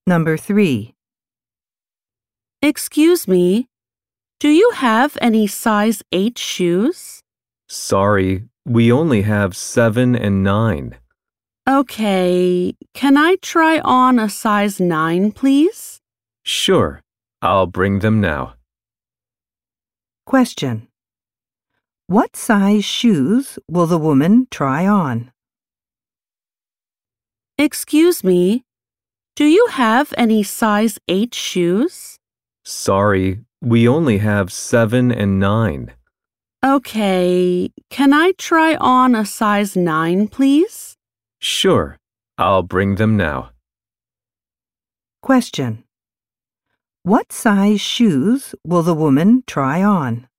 Number 3. Excuse me, do you have any size 8 shoes? Sorry, we only have 7 and 9. Okay, can I try on a size 9, please? Sure, I'll bring them now. Question. What size shoes will the woman try on? Excuse me, do you have any size 8 shoes? Sorry, we only have 7 and 9. Okay, can I try on a size 9, please? Sure, I'll bring them now. Question. What size shoes will the woman try on?